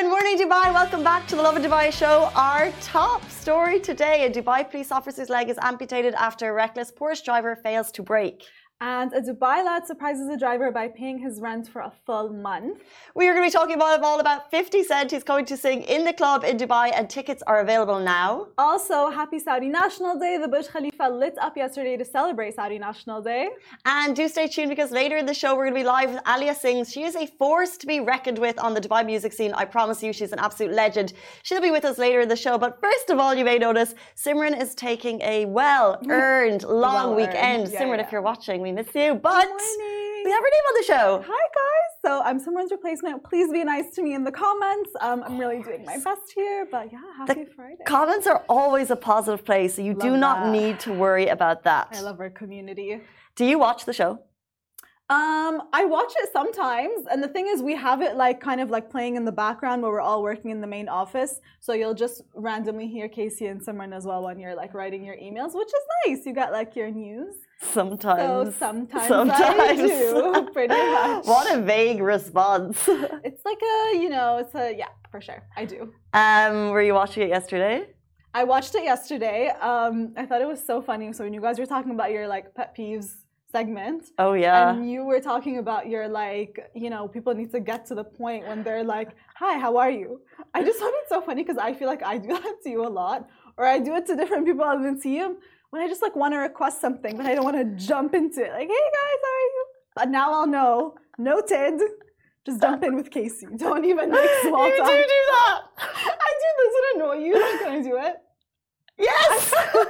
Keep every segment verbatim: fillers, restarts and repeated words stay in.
morning, Dubai. Welcome back to the Lovin Dubai show. Our top story today: a Dubai police officer's leg is amputated after a reckless Porsche driver fails to brake. And a Dubai lad surprises a driver by paying his rent for a full month. We are going to be talking about all about fifty Cent. He's going to sing in the club in Dubai, and tickets are available now. Also, happy Saudi National Day. The Burj Khalifa lit up yesterday to celebrate Saudi National Day. And do stay tuned, because later in the show we're going to be live with Alia Sings. She is a force to be reckoned with on the Dubai music scene. I promise you, she's an absolute legend. She'll be with us later in the show. But first of all, you may notice Simran is taking a well-earned long well weekend. Yeah, Simran, yeah. If you're watching, we miss you. But we have her name on the show. Hi guys. So I'm Simran's replacement. Please be nice to me in the comments. Um, I'm really doing my best here. But yeah, happy the Friday. Comments are always a positive place, so you love do not that. need to worry about that. I love our community. Do you watch the show? Um, I watch it sometimes, and the thing is, we have it like kind of like playing in the background where we're all working in the main office. So you'll just randomly hear Casey and Simran as well when you're like writing your emails, which is nice. You got like your news. Sometimes. So sometimes, sometimes. I do, pretty much. What a vague response. It's like a, you know, it's a, yeah, for sure. I do. Um, were you watching it yesterday? I watched it yesterday. Um, I thought it was so funny. So when you guys were talking about your like pet peeves segment. Oh yeah. And you were talking about your like, you know, people need to get to the point when they're like, hi, how are you? I just found it so funny because I feel like I do that to you a lot. Or I do it to different people I've been seeing when I just like want to request something, but I don't want to jump into it. Like, hey guys, how are you? But now I'll know. Noted. Just jump in with Casey. Don't even make small you talk. You do do that. I do. Does it annoy you? Can I do it? Yes.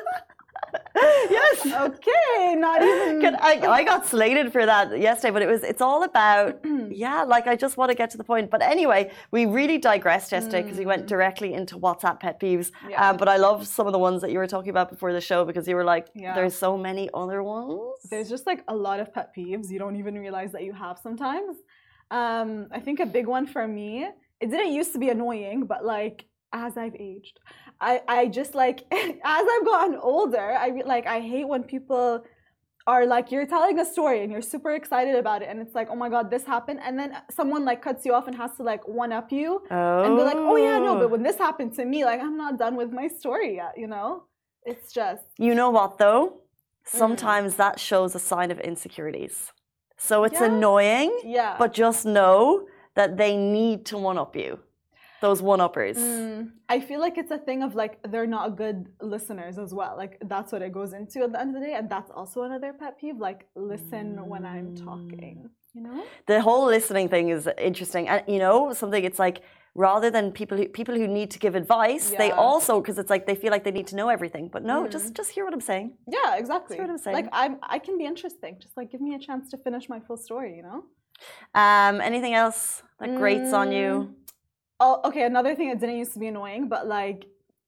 Yes. Okay. Not even. I, I got slated for that yesterday, but it was it's all about yeah. Like I just want to get to the point. But anyway, we really digressed yesterday because mm. we went directly into WhatsApp pet peeves. Yeah. Um, but I love some of the ones that you were talking about before the show because you were like, yeah. there's so many other ones. There's just like a lot of pet peeves you don't even realize that you have sometimes. Um, I think a big one for me. It didn't used to be annoying, but like as I've aged. I, I just like as I've gotten older, I like I hate when people are like you're telling a story and you're super excited about it and it's like, oh my god, this happened, and then someone like cuts you off and has to like one up you oh. and be like, oh yeah, no, but when this happened to me, like I'm not done with my story yet, you know? It's just you know what though? Sometimes mm. that shows a sign of insecurities. So it's yeah. annoying, yeah. but just know that they need to one up you. Those one-uppers. Mm, I feel like it's a thing of like they're not good listeners as well. Like that's what it goes into at the end of the day, and that's also another pet peeve. Like listen mm. when I'm talking. You know. The whole listening thing is interesting, and you know something. It's like rather than people who people who need to give advice, yeah. they also because it's like they feel like they need to know everything. But no, mm. just just hear what I'm saying. Yeah, exactly. Hear what I'm saying. Like I'm, I can be interesting. Just like give me a chance to finish my full story. You know. Um. Anything else that grates mm. on you? Oh, okay. Another thing that didn't used to be annoying, but like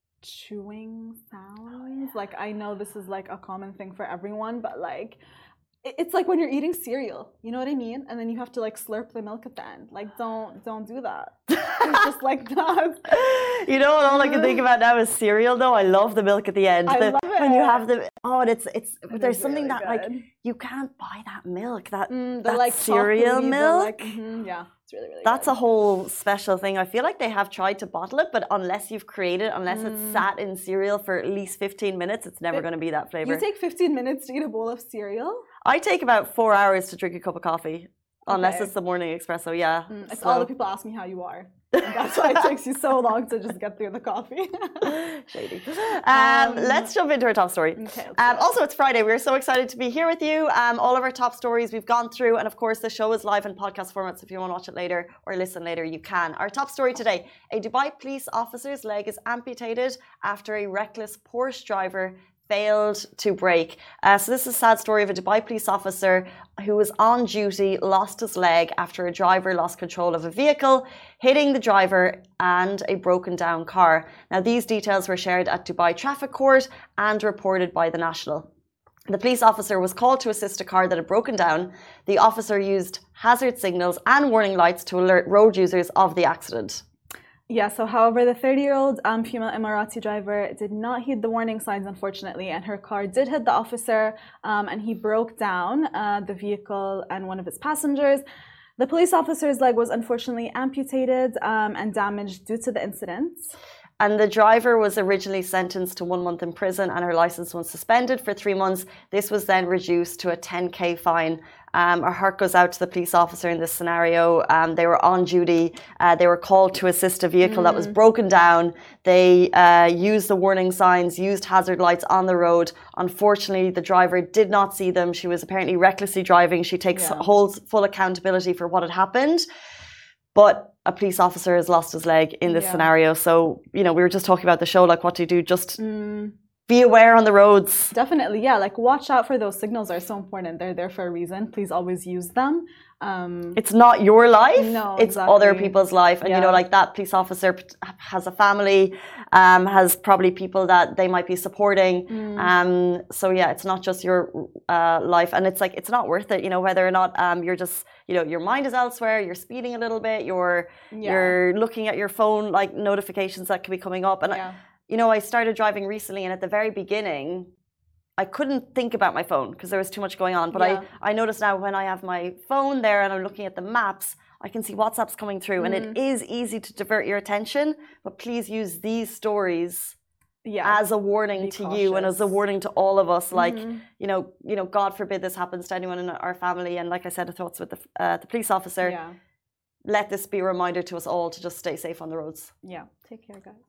chewing sounds. Like I know this is like a common thing for everyone, but like it's like when you're eating cereal. You know what I mean? And then you have to like slurp the milk at the end. Like don't don't do that. It's just like that. You know what? All I can think about now is cereal. Though I love the milk at the end. I the, love it. When you have the oh, and it's it's it there's something really that good. like you can't buy that milk. That mm, the, that like cereal milk. Like, mm-hmm, yeah. Really, really That's good. a whole special thing. I feel like they have tried to bottle it, but unless you've created, unless mm. it's sat in cereal for at least fifteen minutes, it's never going to be that flavor. You take fifteen minutes to eat a bowl of cereal? I take about four hours to drink a cup of coffee, okay. unless it's the morning espresso. Yeah, mm, it's so. all the people ask me how you are. And that's why it takes you so long to just get through the coffee. Shady. Um, um, let's jump into our top story. Okay, um, also, it's Friday. We're so excited to be here with you. Um, all of our top stories we've gone through. And of course, the show is live in podcast format. So if you want to watch it later or listen later, you can. Our top story today. A Dubai police officer's leg is amputated after a reckless Porsche driver failed to brake. Uh, so this is a sad story of a Dubai police officer who was on duty, lost his leg after a driver lost control of a vehicle, hitting the driver and a broken down car. Now these details were shared at Dubai Traffic Court and reported by The National. The police officer was called to assist a car that had broken down. The officer used hazard signals and warning lights to alert road users of the accident. Yeah, so however, the thirty-year-old um, female Emirati driver did not heed the warning signs, unfortunately, and her car did hit the officer um, and he broke down uh, the vehicle and one of its passengers. The police officer's leg was unfortunately amputated um, and damaged due to the incident. And the driver was originally sentenced to one month in prison and her license was suspended for three months. This was then reduced to a ten K fine. Um, our heart goes out to the police officer in this scenario. Um, they were on duty. Uh, they were called to assist a vehicle mm. that was broken down. They uh, used the warning signs, used hazard lights on the road. Unfortunately, the driver did not see them. She was apparently recklessly driving. She takes yeah. whole full accountability for what had happened. But a police officer has lost his leg in this yeah. scenario. So, you know, we were just talking about the show, like what do you do? Just mm. be aware on the roads. Definitely, yeah. Like watch out for those signals are so important. They're there for a reason. Please always use them. Um, it's not your life. No, it's exactly. other people's life. And, yeah. you know, like that police officer has a family, um, has probably people that they might be supporting. Mm. Um, so, yeah, it's not just your uh, life. And it's like, it's not worth it, you know, whether or not um, you're just, you know, your mind is elsewhere, you're speeding a little bit, you're, yeah. you're looking at your phone, like notifications that could be coming up. And, yeah. I, you know, I started driving recently and at the very beginning, I couldn't think about my phone because there was too much going on. But yeah. I, I notice now when I have my phone there and I'm looking at the maps, I can see WhatsApps coming through mm. and it is easy to divert your attention. But please use these stories yeah. as a warning Be to cautious. you and as a warning to all of us. Like, mm-hmm. you know, you know, God forbid this happens to anyone in our family. And like I said, the thoughts with the, uh, the police officer. Yeah. Let this be a reminder to us all to just stay safe on the roads. Yeah. Take care, guys.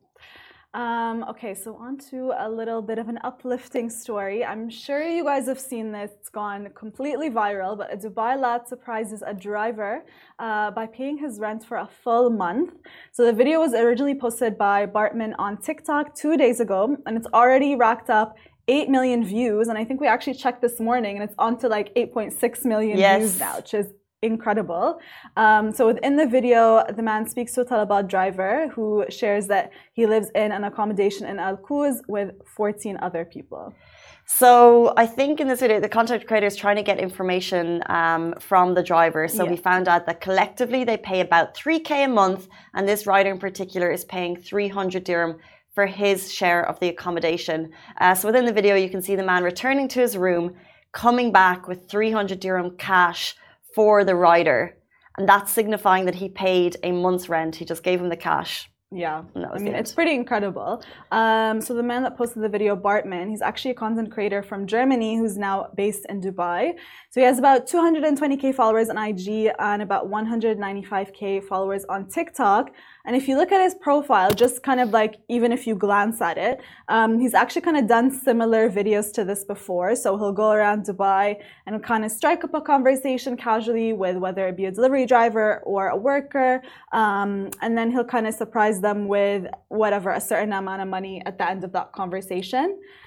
Um, okay, so on to a little bit of an uplifting story. I'm sure you guys have seen this. It's gone completely viral, but a Dubai lad surprises a driver uh, by paying his rent for a full month. So the video was originally posted by Bartman on TikTok two days ago, and it's already racked up eight million views. And I think we actually checked this morning, and it's on to like eight point six million yes. views now, which is incredible. Um, so within the video, the man speaks to a Talabat driver who shares that he lives in an accommodation in Al Quoz with fourteen other people. So I think in this video, the content creator is trying to get information um, from the driver. So yeah. we found out that collectively they pay about three K a month, and this rider in particular is paying three hundred dirham for his share of the accommodation. Uh, so within the video, you can see the man returning to his room, coming back with three hundred dirham cash for the rider, and that's signifying that he paid a month's rent. He just gave him the cash. Yeah, I mean, it's pretty incredible. Um, so the man that posted the video, Bartman, he's actually a content creator from Germany who's now based in Dubai. So he has about two hundred twenty K followers on I G and about one hundred ninety-five K followers on TikTok. And if you look at his profile, just kind of like, even if you glance at it, um, he's actually kind of done similar videos to this before. So he'll go around Dubai and kind of strike up a conversation casually with whether it be a delivery driver or a worker. Um, and then he'll kind of surprise them with whatever, a certain amount of money at the end of that conversation.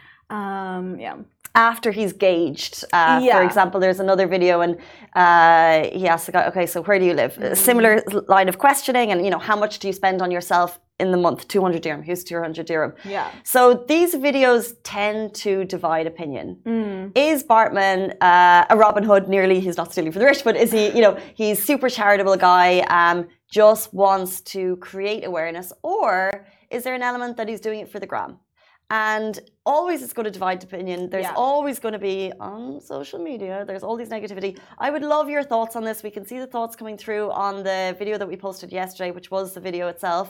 Um, yeah. After he's gauged. Uh, yeah. For example, there's another video and uh, he asks the guy, okay, so where do you live? Mm-hmm. A similar line of questioning and, you know, how much do you spend on yourself in the month? two hundred dirham. Here's two hundred dirham. Yeah. So these videos tend to divide opinion. Mm. Is Bartman uh, a Robin Hood nearly? He's not stealing from the rich, but is he, you know, he's super charitable guy, um, just wants to create awareness, or is there an element that he's doing it for the gram? And always it's going to divide opinion. There's yeah. always going to be on social media, there's all these negativity. I would love your thoughts on this. We can see the thoughts coming through on the video that we posted yesterday, which was the video itself.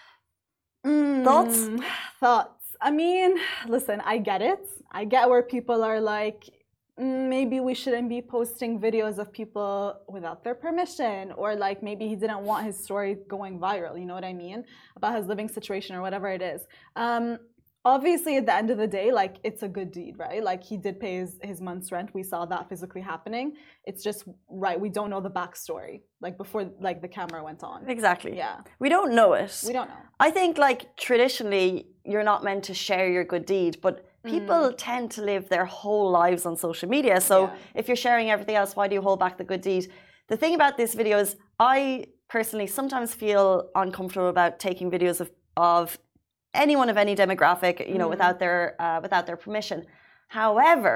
Mm, thoughts? Thoughts. I mean, listen, I get it. I get where people are like, maybe we shouldn't be posting videos of people without their permission, or like maybe he didn't want his story going viral, you know what I mean, about his living situation or whatever it is. Um, obviously at the end of the day, like, it's a good deed, right? Like, he did pay his, his month's rent. We saw that physically happening. It's just, right, we don't know the backstory, like, before, like, the camera went on. Exactly. Yeah. We don't know it. We don't know. I think, like, traditionally, you're not meant to share your good deed, but people mm. tend to live their whole lives on social media. So yeah. if you're sharing everything else, why do you hold back the good deed? The thing about this video is I personally sometimes feel uncomfortable about taking videos of, of anyone of any demographic, you know, mm. without their uh, without their permission. However,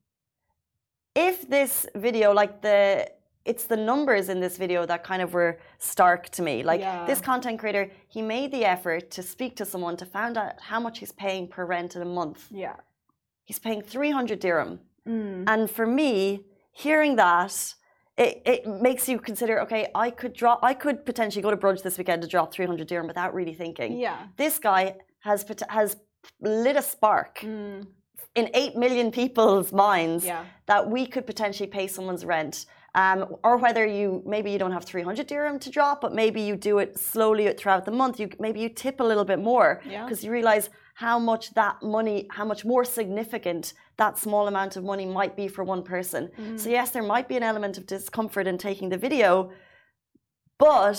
if this video, like the, it's the numbers in this video that kind of were stark to me. Like yeah. this content creator, he made the effort to speak to someone to find out how much he's paying per rent in a month. Yeah, he's paying three hundred dirham, mm. and for me, hearing that, it, it makes you consider, okay, I could drop, I could potentially go to brunch this weekend to drop three hundred dirham without really thinking. Yeah. This guy has has lit a spark mm. in eight million people's minds yeah. that we could potentially pay someone's rent. Um, or whether you, maybe you don't have three hundred dirham to drop, but maybe you do it slowly throughout the month. You maybe you tip a little bit more because yeah. you realize how much that money, how much more significant that small amount of money might be for one person. Mm-hmm. So yes, there might be an element of discomfort in taking the video, but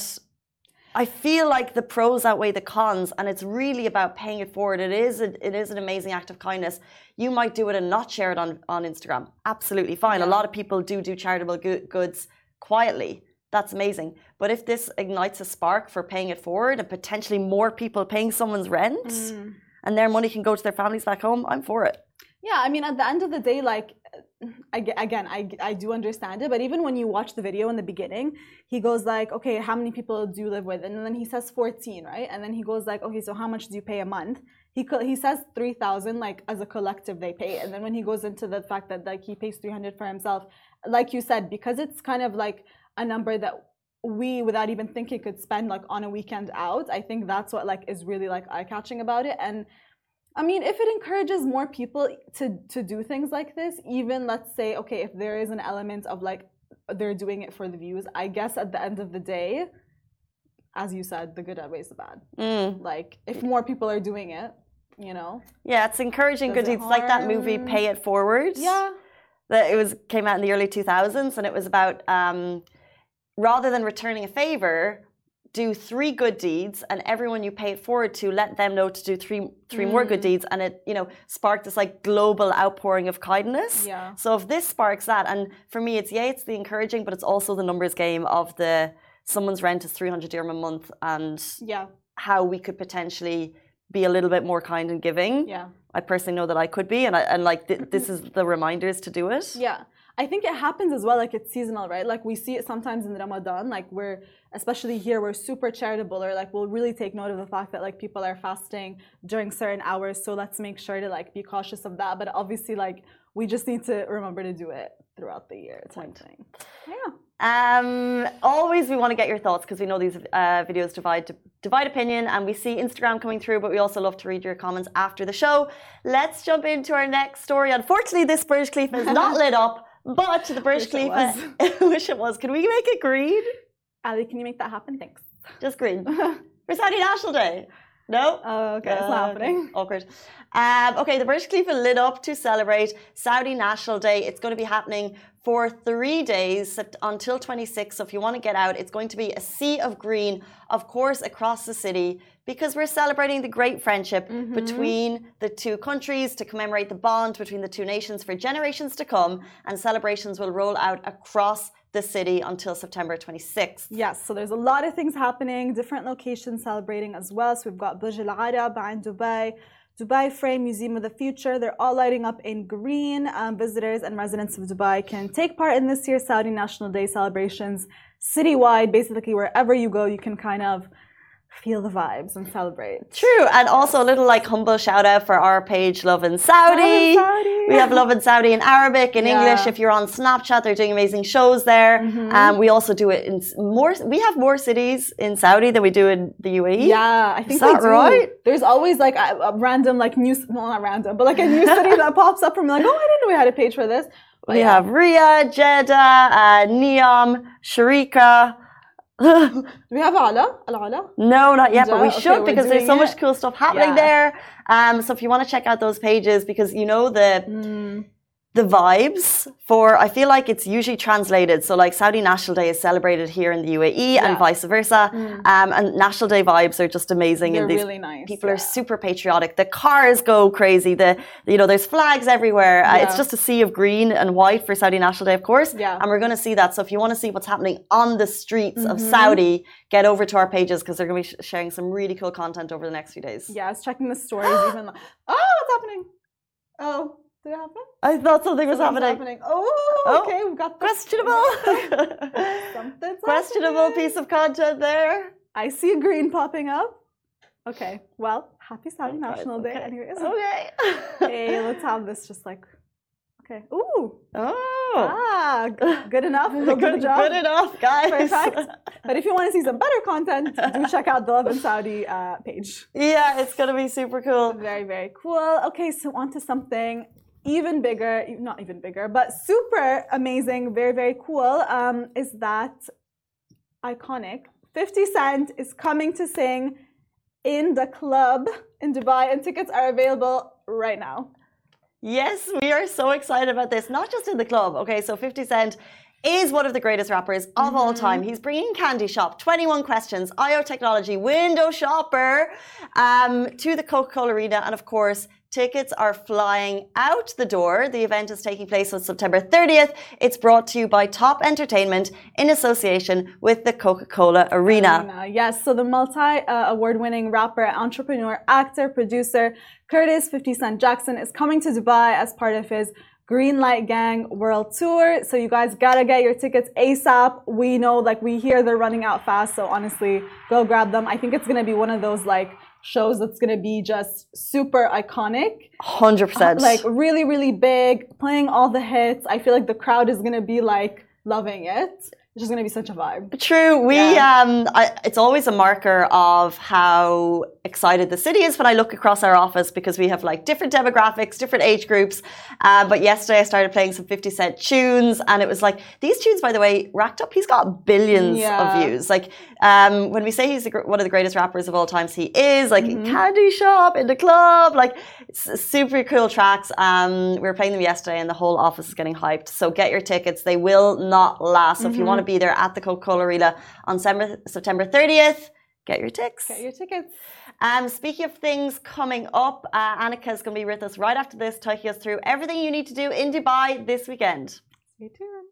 I feel like the pros outweigh the cons, and it's really about paying it forward. It is a, it is an amazing act of kindness. You might do it and not share it on, on Instagram. Absolutely fine. Yeah. A lot of people do do charitable go- goods quietly. That's amazing. But if this ignites a spark for paying it forward and potentially more people paying someone's rent mm. and their money can go to their families back home, I'm for it. Yeah, I mean, at the end of the day, like, again, I, I do understand it, but even when you watch the video in the beginning, he goes like, okay, how many people do you live with? And then he says fourteen, right? And then he goes like, okay, so how much do you pay a month? He he says three thousand, like, as a collective they pay. And then when he goes into the fact that, like, he pays three hundred for himself, like you said, because it's kind of like a number that we, without even thinking, could spend, like, on a weekend out. I think that's what, like, is really, like, eye-catching about it. And I mean, if it encourages more people to, to do things like this, even let's say, okay, if there is an element of like they're doing it for the views, I guess at the end of the day, as you said, the good outweighs the bad. Mm. Like if more people are doing it, you know. Yeah, it's encouraging good deeds. It's like that movie Pay It Forward. Yeah. That it was came out in the early two thousands, and it was about um, rather than returning a favor, do three good deeds, and everyone you pay it forward to, let them know to do three three mm. more good deeds, and it, you know, sparked this like global outpouring of kindness. Yeah. So if this sparks that, and for me, it's yeah, it's the encouraging, but it's also the numbers game of the someone's rent is three hundred dirham a month, and yeah, how we could potentially be a little bit more kind and giving. Yeah. I personally know that I could be, and I, and like th- this is the reminders to do it. Yeah. I think it happens as well, like it's seasonal, right? Like we see it sometimes in Ramadan, like we're, especially here, we're super charitable, or like we'll really take note of the fact that like people are fasting during certain hours, so let's make sure to like be cautious of that. But obviously, like we just need to remember to do it throughout the year type thing. Yeah. Um, always we want to get your thoughts, because we know these uh, videos divide divide opinion, and we see Instagram coming through, but we also love to read your comments after the show. Let's jump into our next story. Unfortunately, this Burj Khalifa is not lit up. But the Burj Khalifa, wish it was. Can we make it green? Ali, can you make that happen? Thanks. Just green. For Saudi National Day. No? Oh, okay. It's uh, not happening. Awkward. Um, okay, the Burj Khalifa lit up to celebrate Saudi National Day. It's going to be happening for three days until twenty-sixth. So if you want to get out, it's going to be a sea of green, of course, across the city, because we're celebrating the great friendship mm-hmm. between the two countries to commemorate the bond between the two nations for generations to come, and celebrations will roll out across the city until September twenty-sixth. Yes, so there's a lot of things happening, different locations celebrating as well. So we've got Burj Al Arab and Dubai, Dubai Frame, Museum of the Future. They're all lighting up in green. Um, visitors and residents of Dubai can take part in this year's Saudi National Day celebrations citywide. Basically, wherever you go, you can kind of feel the vibes and celebrate. True, and also a little like humble shout out for our page Love in Saudi. Love in Saudi. We have Love in Saudi in Arabic, in yeah. English. If you're on Snapchat, they're doing amazing shows there. Mm-hmm. Um, we also do it in more. We have more cities in Saudi than we do in the U A E. Yeah, I think is that we do. right? There's always like a, a random like new, well, not random, but like a new city that pops up from like, oh, I didn't know we had a page for this. But we yeah. have Riyadh, Jeddah, uh, Neom, Sharika. Do we have Ala? Al-Ala? No, not yet, but we okay, should, because there's so it. much cool stuff happening yeah. there. Um, so if you want to check out those pages, because you know the mm. the vibes for, I feel like it's usually translated. So like Saudi National Day is celebrated here in the U A E yeah. and vice versa. Mm. Um, and National Day vibes are just amazing. They're and these really nice. People yeah. are super patriotic. The cars go crazy. The you know there's flags everywhere. Yeah. Uh, it's just a sea of green and white for Saudi National Day, of course. Yeah. And we're going to see that. So if you want to see what's happening on the streets mm-hmm. of Saudi, get over to our pages, because they're going to be sh- sharing some really cool content over the next few days. Yeah, I was checking the stories even. Like, oh, what's happening? Oh. Did it happen? I thought something was happening. happening. Oh, okay, we've got this. Questionable. Something's questionable happening. Piece of content there. I see a green popping up. Okay, well, happy Saudi okay, National okay. Day anyways. Okay. Hey, let's have this just like, okay. Ooh. Oh, Ah, good enough. Good, good, job. good enough, guys. Perfect. But if you want to see some better content, do check out the Lovin Saudi uh, page. Yeah, it's going to be super cool. Very, very cool. Okay, so on to something even bigger, not even bigger, but super amazing, very, very cool, um, is that iconic. fifty Cent is coming to sing in the club in Dubai, and tickets are available right now. Yes, we are so excited about this. Not just in the club. Okay, so fifty Cent is one of the greatest rappers of mm-hmm. all time. He's bringing Candy Shop, twenty-one Questions, I O Technology, Window Shopper um, to the Coca-Cola Arena. And of course, tickets are flying out the door. The event is taking place on September thirtieth. It's brought to you by Top Entertainment in association with the Coca-Cola Arena. Arena. Yes, so the multi-award-winning rapper, entrepreneur, actor, producer, Curtis fifty Cent Jackson is coming to Dubai as part of his Green Light Gang World Tour. So you guys gotta get your tickets ASAP. We know, like, we hear they're running out fast. So honestly, go grab them. I think it's gonna be one of those, like, shows that's gonna be just super iconic. one hundred percent. Uh, like, really, really big, playing all the hits. I feel like the crowd is gonna be, like, loving it. It's just going to be such a vibe. True. We, yeah. um, I, it's always a marker of how excited the city is when I look across our office, because we have like different demographics, different age groups. Uh, but yesterday I started playing some fifty Cent tunes, and it was like, these tunes, by the way, racked up. He's got billions yeah. of views. Like, um, when we say he's the, one of the greatest rappers of all times, he is. Like, mm-hmm. in Candy Shop, in the club, like, it's super cool tracks. Um, we were playing them yesterday, and the whole office is getting hyped. So get your tickets. They will not last. So mm-hmm. if you want to be there at the Coca-Cola Arena on September thirtieth, get your tickets. Get your tickets. Um, speaking of things coming up, uh, Annika is going to be with us right after this, taking us through everything you need to do in Dubai this weekend. Stay tuned.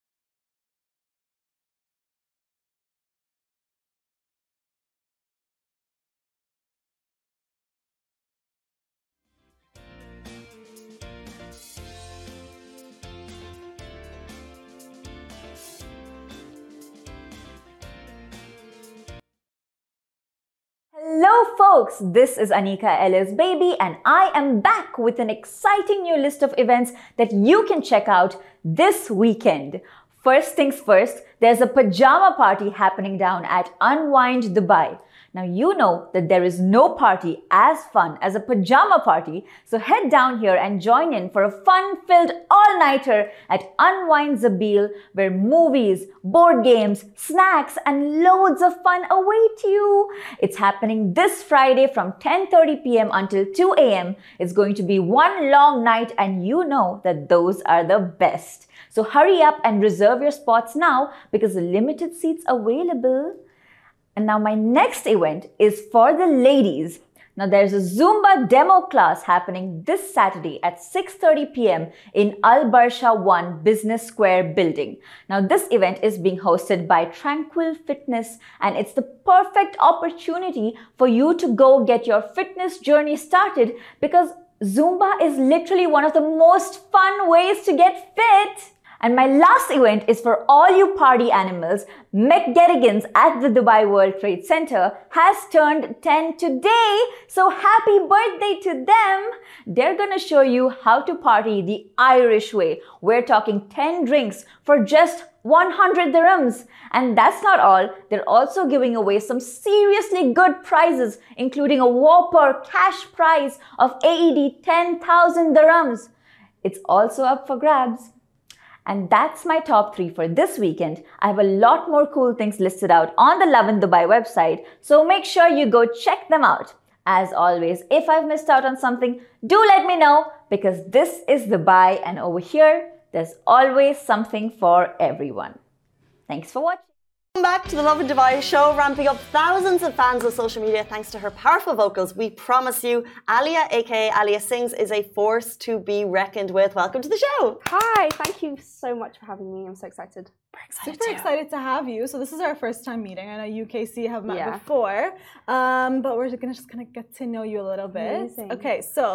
Hello folks, this is Anika Ellis Baby, and I am back with an exciting new list of events that you can check out this weekend. First things first, there's a pajama party happening down at Unwind Dubai. Now you know that there is no party as fun as a pajama party, so head down here and join in for a fun-filled all-nighter at Unwind Zabil, where movies, board games, snacks and loads of fun await you. It's happening this Friday from ten thirty p m until two a m It's going to be one long night, and you know that those are the best. So hurry up and reserve your spots now, because the limited seats available. And now my next event is for the ladies. Now there's a Zumba demo class happening this Saturday at six thirty p m in Al Barsha one Business Square building. Now this event is being hosted by Tranquil Fitness, and it's the perfect opportunity for you to go get your fitness journey started, because Zumba is literally one of the most fun ways to get fit. And my last event is for all you party animals. McGettigans at the Dubai World Trade Center has turned ten today, so happy birthday to them. They're gonna show you how to party the Irish way. We're talking ten drinks for just one hundred dirhams. And that's not all. They're also giving away some seriously good prizes, including a whopper cash prize of A E D ten thousand dirhams. It's also up for grabs. And that's my top three for this weekend. I have a lot more cool things listed out on the Lovin Dubai website, so make sure you go check them out. As always, if I've missed out on something, do let me know, because this is Dubai, and over here, there's always something for everyone. Thanks for watching. Welcome back to the Lovin Dubai show, ramping up thousands of fans of social media thanks to her powerful vocals. We promise you, Alia, aka Alia Sings, is a force to be reckoned with. Welcome to the show. Hi, thank you so much for having me. I'm so excited. We're excited Super too. excited to have you. So this is our first time meeting. I know you, K C, have met Yeah. before, um, but we're gonna just gonna get to know you a little bit. Amazing. Okay, so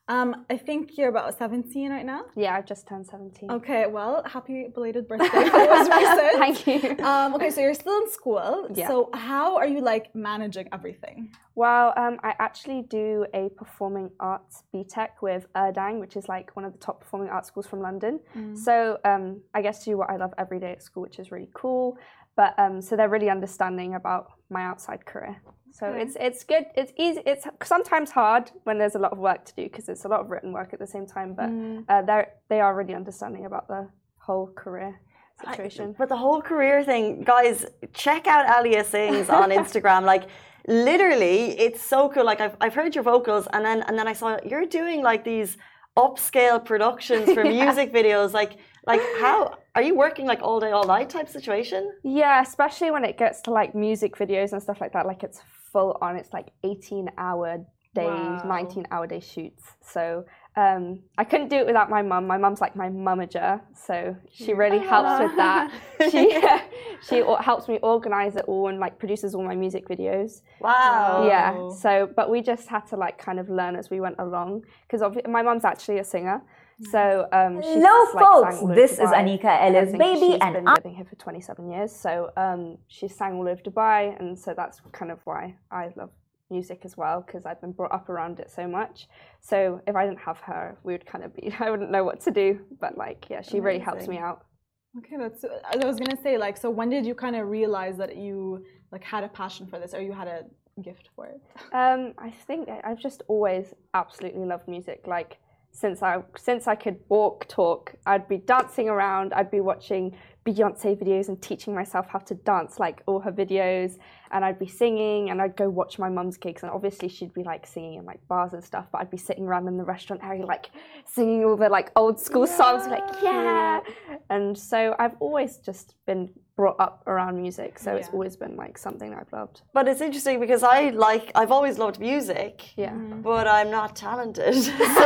Um, I think you're about seventeen right now. Yeah, I've just turned seventeen. Okay, well, happy belated birthday. It was recent. Thank you. Um, okay, so you're still in school. Yeah. So how are you like managing everything? Well, um, I actually do a performing arts B Tech with Erdang, which is like one of the top performing arts schools from London. Mm. So um, I get to do what I love every day at school, which is really cool. But um, so they're really understanding about my outside career. So Okay. it's it's good. It's easy. It's sometimes hard when there's a lot of work to do because it's a lot of written work at the same time. But Mm. uh, they they are really understanding about the whole career situation. I, but the whole career thing, guys, check out Alia Sings on Instagram. Like, literally, it's so cool. Like, I've I've heard your vocals, and then and then I saw you're doing like these upscale productions for Yeah. music videos. Like, like how are you working like all day, all night type situation? Yeah, especially when it gets to like music videos and stuff like that. Like it's full on. It's like eighteen hour days, Wow. nineteen hour day shoots. So um, I couldn't do it without my mum. My mum's like my mummager, so she really helps with that. She she o- helps me organize it all and like produces all my music videos. Wow. Yeah. Oh. So, but we just had to like kind of learn as we went along because my mum's actually a singer. So um, she's Hello, just, like, folks. sang all over This is Dubai Anika and Ella's everything. baby, She's and been I. living here for twenty-seven years. So um, she sang all over Dubai, and so that's kind of why I love music as well because I've been brought up around it so much. So if I didn't have her, we would kind of be. I wouldn't know what to do. But like, yeah, she really helps me out. Okay, that's. I was gonna say like, so when did you kind of realize that you like had a passion for this, or you had a gift for it? Um, I think I- I've just always absolutely loved music. Like since I since I could walk, talk, I'd be dancing around. I'd be watching Beyonce videos and teaching myself how to dance like all her videos, and I'd be singing, and I'd go watch my mum's gigs, and obviously she'd be like singing in like bars and stuff, but I'd be sitting around in the restaurant area like singing all the like old school Yeah. songs, like yeah. And so I've always just been brought up around music, so it's Yeah. always been like something I've loved. But it's interesting because I like I've always loved music, Yeah. but I'm not talented.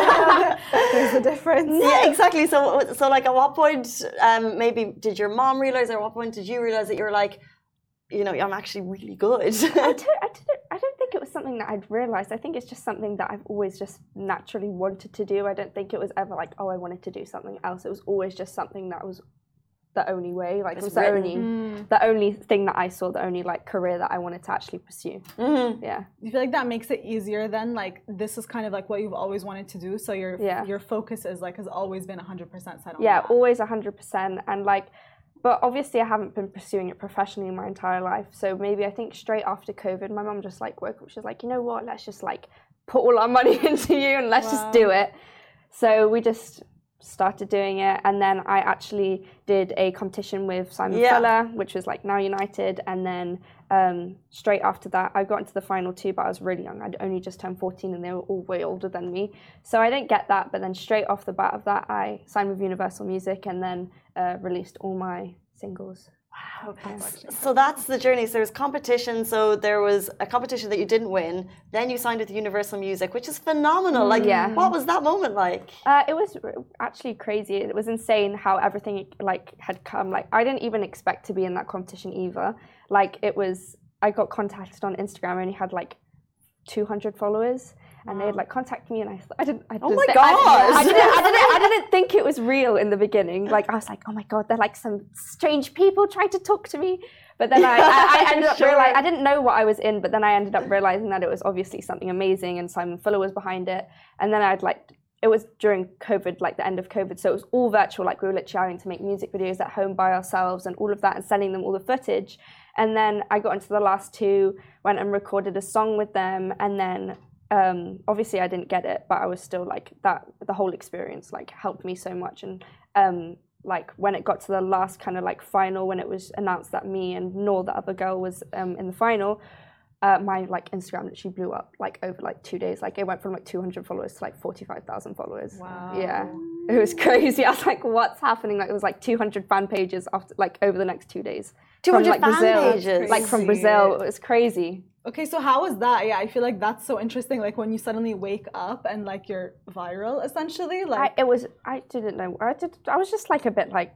There's a difference. Yeah, exactly. So, so like, at what point, um, maybe did your mom realize, or at what point did you realize that you're like, you know, I'm actually really good? I, don't, I, didn't, I don't think it was something that I'd realised. I think it's just something that I've always just naturally wanted to do. I don't think it was ever like, oh, I wanted to do something else. It was always just something that was the only way. Like It's it was the written. only, Mm. the only thing that I saw, the only like career that I wanted to actually pursue. Mm-hmm. Yeah. Do you feel like that makes it easier then? Like this is kind of like what you've always wanted to do, so your Yeah. your focus is like has always been one hundred percent set on Yeah, that. always one hundred percent. And like, but obviously I haven't been pursuing it professionally my entire life. So maybe I think straight after COVID, my mum just like woke up. She was like, you know what? Let's just like put all our money into you and let's just Wow. do it. So we just started doing it. And then I actually did a competition with Simon Yeah. Fuller, which was like Now United. And then um, straight after that, I got into the final two, but I was really young. I'd only just turned fourteen and they were all way older than me. So I didn't get that. But then straight off the bat of that, I signed with Universal Music and then uh, released all my singles. Wow. So that's the journey. So there was competition. So there was a competition that you didn't win. Then you signed with Universal Music, which is phenomenal. Like, Yeah. what was that moment like? Uh, it was r- actually crazy. It was insane how everything like had come. Like I didn't even expect to be in that competition either. Like it was, I got contacted on Instagram. I only had like two hundred followers, and they'd like contact me, and I, I didn't. I Oh just- my I- gosh. I, didn't, I didn't. I didn't think it was real in the beginning. Like I was like, oh my god, they're like some strange people trying to talk to me. But then I, I, I ended up Sure. realizing I didn't know what I was in. But then I ended up realizing that it was obviously something amazing, and Simon Fuller was behind it. And then I'd like. It was during COVID, like the end of COVID, so it was all virtual. Like we were literally having to make music videos at home by ourselves and all of that, and sending them all the footage. And then I got into the last two, went and recorded a song with them, and then um, obviously I didn't get it, but I was still like that. The whole experience like helped me so much, and um, like when it got to the last kind of like final, when it was announced that me and Noor, the other girl, was um, in the final. Uh, my like Instagram literally blew up like over like two days. Like it went from like two hundred followers to like forty-five thousand followers. Wow. Yeah, it was crazy. I was like, what's happening? Like it was like two hundred fan pages after like over the next two days. two hundred From, like, fan Brazil. pages. Like from Crazy. Brazil, it was crazy. Okay, so how was that? Yeah, I feel like that's so interesting. Like when you suddenly wake up and like you're viral, essentially. I, Like it was. I didn't know. I did. I was just like a bit like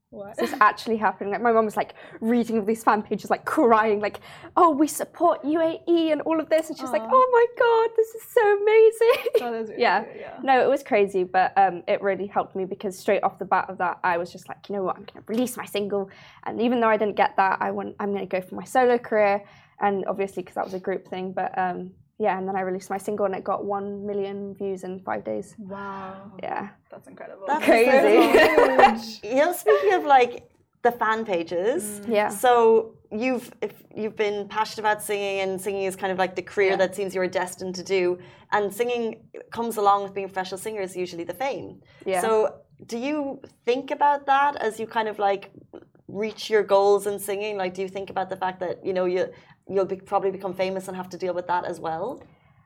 What? Is this actually happening? Like my mom was like reading all these fan pages, like crying, like, oh, we support U A E and all of this. And she's like, oh my God, this is so amazing. That is really yeah. cute, yeah. No, it was crazy, but um, it really helped me because straight off the bat of that, I was just like, you know what, I'm going to release my single. And even though I didn't get that, I want, I'm going to go for my solo career. And obviously, because that was a group thing, but um, yeah, and then I released my single and it got one million views in five days. Wow. Yeah. That's incredible. That's crazy. You know, speaking of like the fan pages, Mm. Yeah. so you've if you've been passionate about singing, and singing is kind of like the career Yeah. that seems you were destined to do, and singing comes along with being a professional singer is usually the fame. Yeah. So do you think about that as you kind of like reach your goals in singing? Like, do you think about the fact that, you know, you you'll be, probably become famous and have to deal with that as well?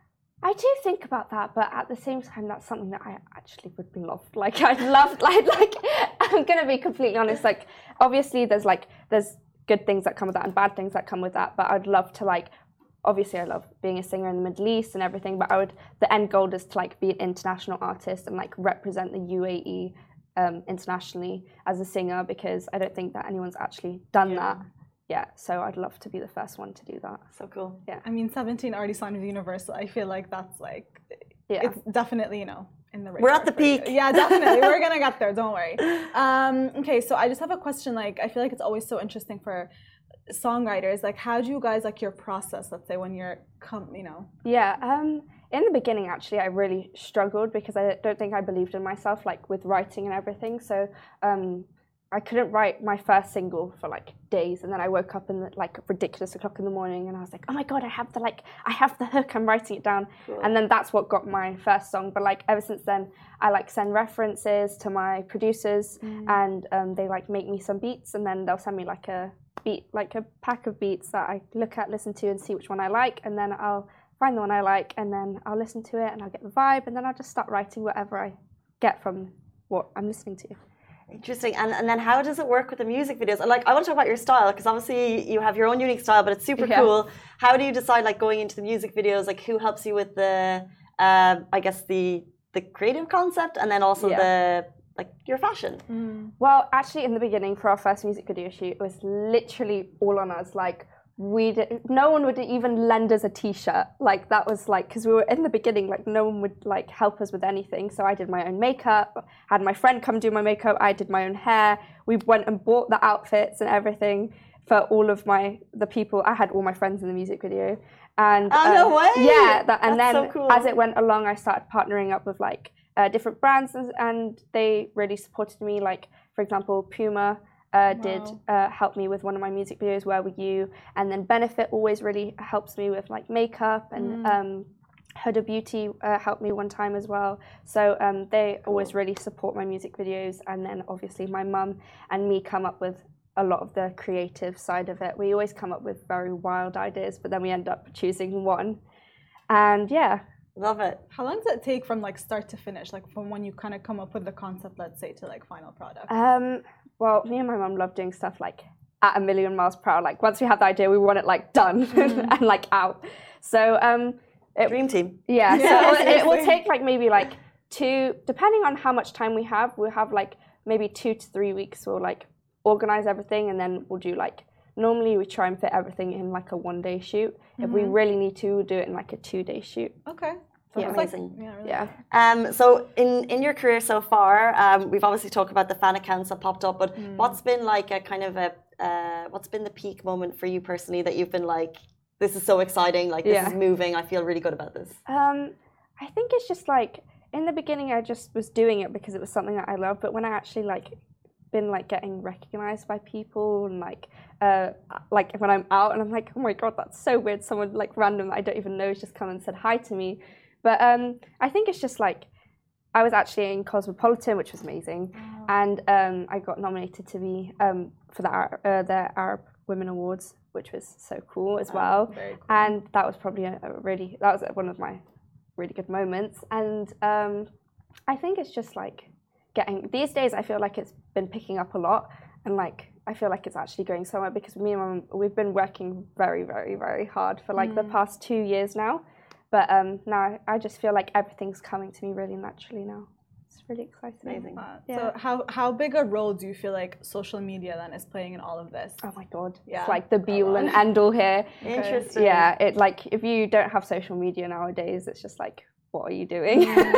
I do think about that, but at the same time, that's something that I actually would love. Like, I'd love, like, like I'm gonna be completely honest. Like, obviously, there's like there's good things that come with that and bad things that come with that. But I'd love to like, obviously, I love being a singer in the Middle East and everything. But I would, the end goal is to like be an international artist and like represent the U A E um, internationally as a singer, because I don't think that anyone's actually done Yeah. that. Yeah, so I'd love to be the first one to do that. So cool. Yeah. I mean, seventeen already signed with Universal. I feel like that's like, Yeah. it's definitely, you know, in the We're at radar the for you. peak. Yeah, definitely. We're gonna get there. Don't worry. Um, okay, so I just have a question. Like, I feel like it's always so interesting for songwriters. Like, how do you guys like your process? Let's say when you're, come, you know. Yeah, um, in the beginning, actually, I really struggled because I don't think I believed in myself, like with writing and everything. So um, I couldn't write my first single for like days, and then I woke up in the, like ridiculous o'clock in the morning, and I was like, oh my God, I have the like, I have the hook. I'm writing it down, Cool. and then that's what got my first song. But like ever since then, I like send references to my producers, and um, they like make me some beats, and then they'll send me like a beat, like a pack of beats that I look at, listen to, and see which one I like, and then I'll find the one I like, and then I'll listen to it, and I'll get the vibe, and then I'll just start writing whatever I get from what I'm listening to. Interesting. And and then how does it work with the music videos? And like, I want to talk about your style, because obviously you have your own unique style, but it's super Yeah. cool. How do you decide, like, going into the music videos? Like, who helps you with the, uh, I guess the the creative concept, and then also Yeah. the like your fashion? Well, actually, in the beginning, for our first music video shoot, it was literally all on us. Like, we did, no one would even lend us a T-shirt. Like, that was like, because we were in the beginning, like, no one would like help us with anything. So I did my own makeup, had my friend come do my makeup, I did my own hair. We went and bought the outfits and everything for all of my, the people. I had all my friends in the music video. And Oh, no um, way! Yeah, that, and That's then so cool. as it went along, I started partnering up with like uh, different brands, and, and they really supported me. Like, for example, Puma uh, did uh, help me with one of my music videos, Where Were You? And then Benefit always really helps me with like makeup, and um, Huda Beauty uh, helped me one time as well. So um, they always really support my music videos. And then obviously my mum and me come up with a lot of the creative side of it. We always come up with very wild ideas, but then we end up choosing one. And yeah. Love it. How long does it take from like start to finish? Like from when you kind of come up with the concept, let's say, to like final product? Um, well, me and my mum love doing stuff like at a million miles per hour. Like once we have the idea, we want it like done and like out. So um, it, Dream team. yeah, Yeah, so it, it will seriously. take like maybe like two, depending on how much time we have, we'll have like maybe two to three weeks. We'll like organize everything, and then we'll do like, normally we try and fit everything in like a one day shoot. If we really need to, we'll do it in like a two day shoot. Okay. That's It's like- amazing. yeah, really. Yeah. Um, so in, in your career so far, um, we've obviously talked about the fan accounts that popped up, but what's been like a kind of a, uh, what's been the peak moment for you personally that you've been like, this is so exciting, like this Yeah. is moving, I feel really good about this? Um, I think it's just like, in the beginning I just was doing it because it was something that I loved, but when I actually like been like getting recognized by people, and like uh like when I'm out and I'm like, oh my God, that's so weird, someone like random that I don't even know has just come and said hi to me. But um I think it's just like, I was actually in Cosmopolitan, which was amazing, and um I got nominated to be um for the Ar- uh, the Arab Women Awards, which was so cool as well. Very cool. And that was probably a, a really, that was one of my really good moments. And um, I think it's just like getting, these days I feel like it's been picking up a lot, and like I feel like it's actually going somewhere, because me and my mum, we've been working very, very, very hard for like the past two years now. But um, now I just feel like everything's coming to me really naturally now. it's really exciting. Amazing. Uh, Yeah. So how how big a role do you feel like social media then is playing in all of this? Oh my god, Yeah. it's like the be all Go and on. end all here. Interesting. Yeah, it like if you don't have social media nowadays, it's just like, what are you doing?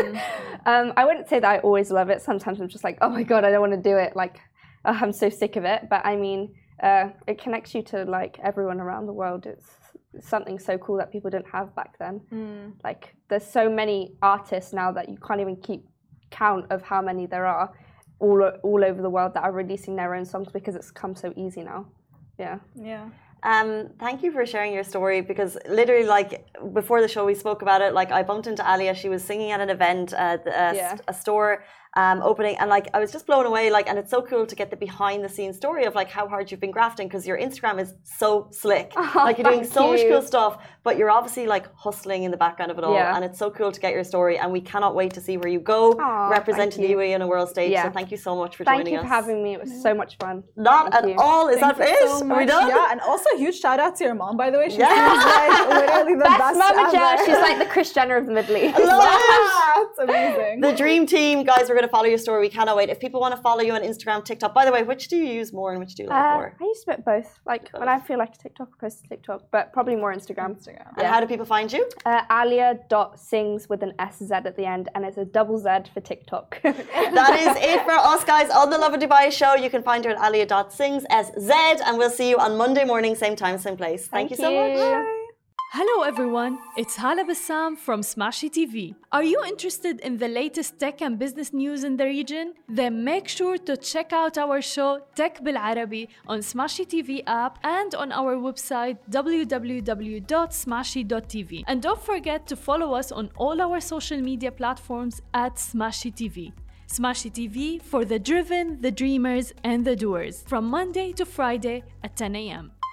um, I wouldn't say that I always love it. Sometimes I'm just like, oh my god, I don't want to do it. Like, oh, I'm so sick of it. But I mean, uh, it connects you to like everyone around the world. It's something so cool that people didn't have back then. Like, there's so many artists now that you can't even keep count of how many there are all all over the world that are releasing their own songs because it's come so easy now. Yeah. Yeah. Um, thank you for sharing your story because literally, like before the show, we spoke about it. Like I bumped into Alia; she was singing at an event, uh, a, Yeah. a store um, opening, and like I was just blown away. Like, and it's so cool to get the behind-the-scenes story of like how hard you've been grafting because your Instagram is so slick. Oh, like you're doing thank so much you. cool stuff, but you're obviously like hustling in the background of it all, Yeah. and it's so cool to get your story. And we cannot wait to see where you go, Aw, representing thank the you. U A E on a world stage. Yeah. So thank you so much for Thank joining you us. for having me. It was so much fun. Not Thank at you. all. Is Thank that you it? so Are we much. done? Yeah, and also huge shout out to your mom, by the way. She Yeah. seems like literally the Best best Mama ever. Jess. She's like the Kris Jenner of the Middle East. I love it. That's amazing. The dream team, guys, we're going to follow your story. We cannot wait. If people want to follow you on Instagram, TikTok, by the way, which do you use more and which do you like Uh, more? I used to bit both. Like when I feel like a TikTok, I post to TikTok, but probably more Instagram. Instagram. And how do people find you? Uh, Alia dot sings with an S Z at the end, and it's a double Z for TikTok. That is it for us, guys, on the Love of Dubai show. You can find her at alia dot sings, S Z, and we'll see you on Monday morning, same time, same place. Thank, Thank you so much. you. Hello everyone, it's Hala Bassam from Smashy T V. Are you interested in the latest tech and business news in the region? Then make sure to check out our show Tech Bil Arabi on Smashy T V app and on our website w w w dot smashy dot t v. And don't forget to follow us on all our social media platforms at Smashy T V. Smashy T V for the driven, the dreamers, and the doers from Monday to Friday at ten a m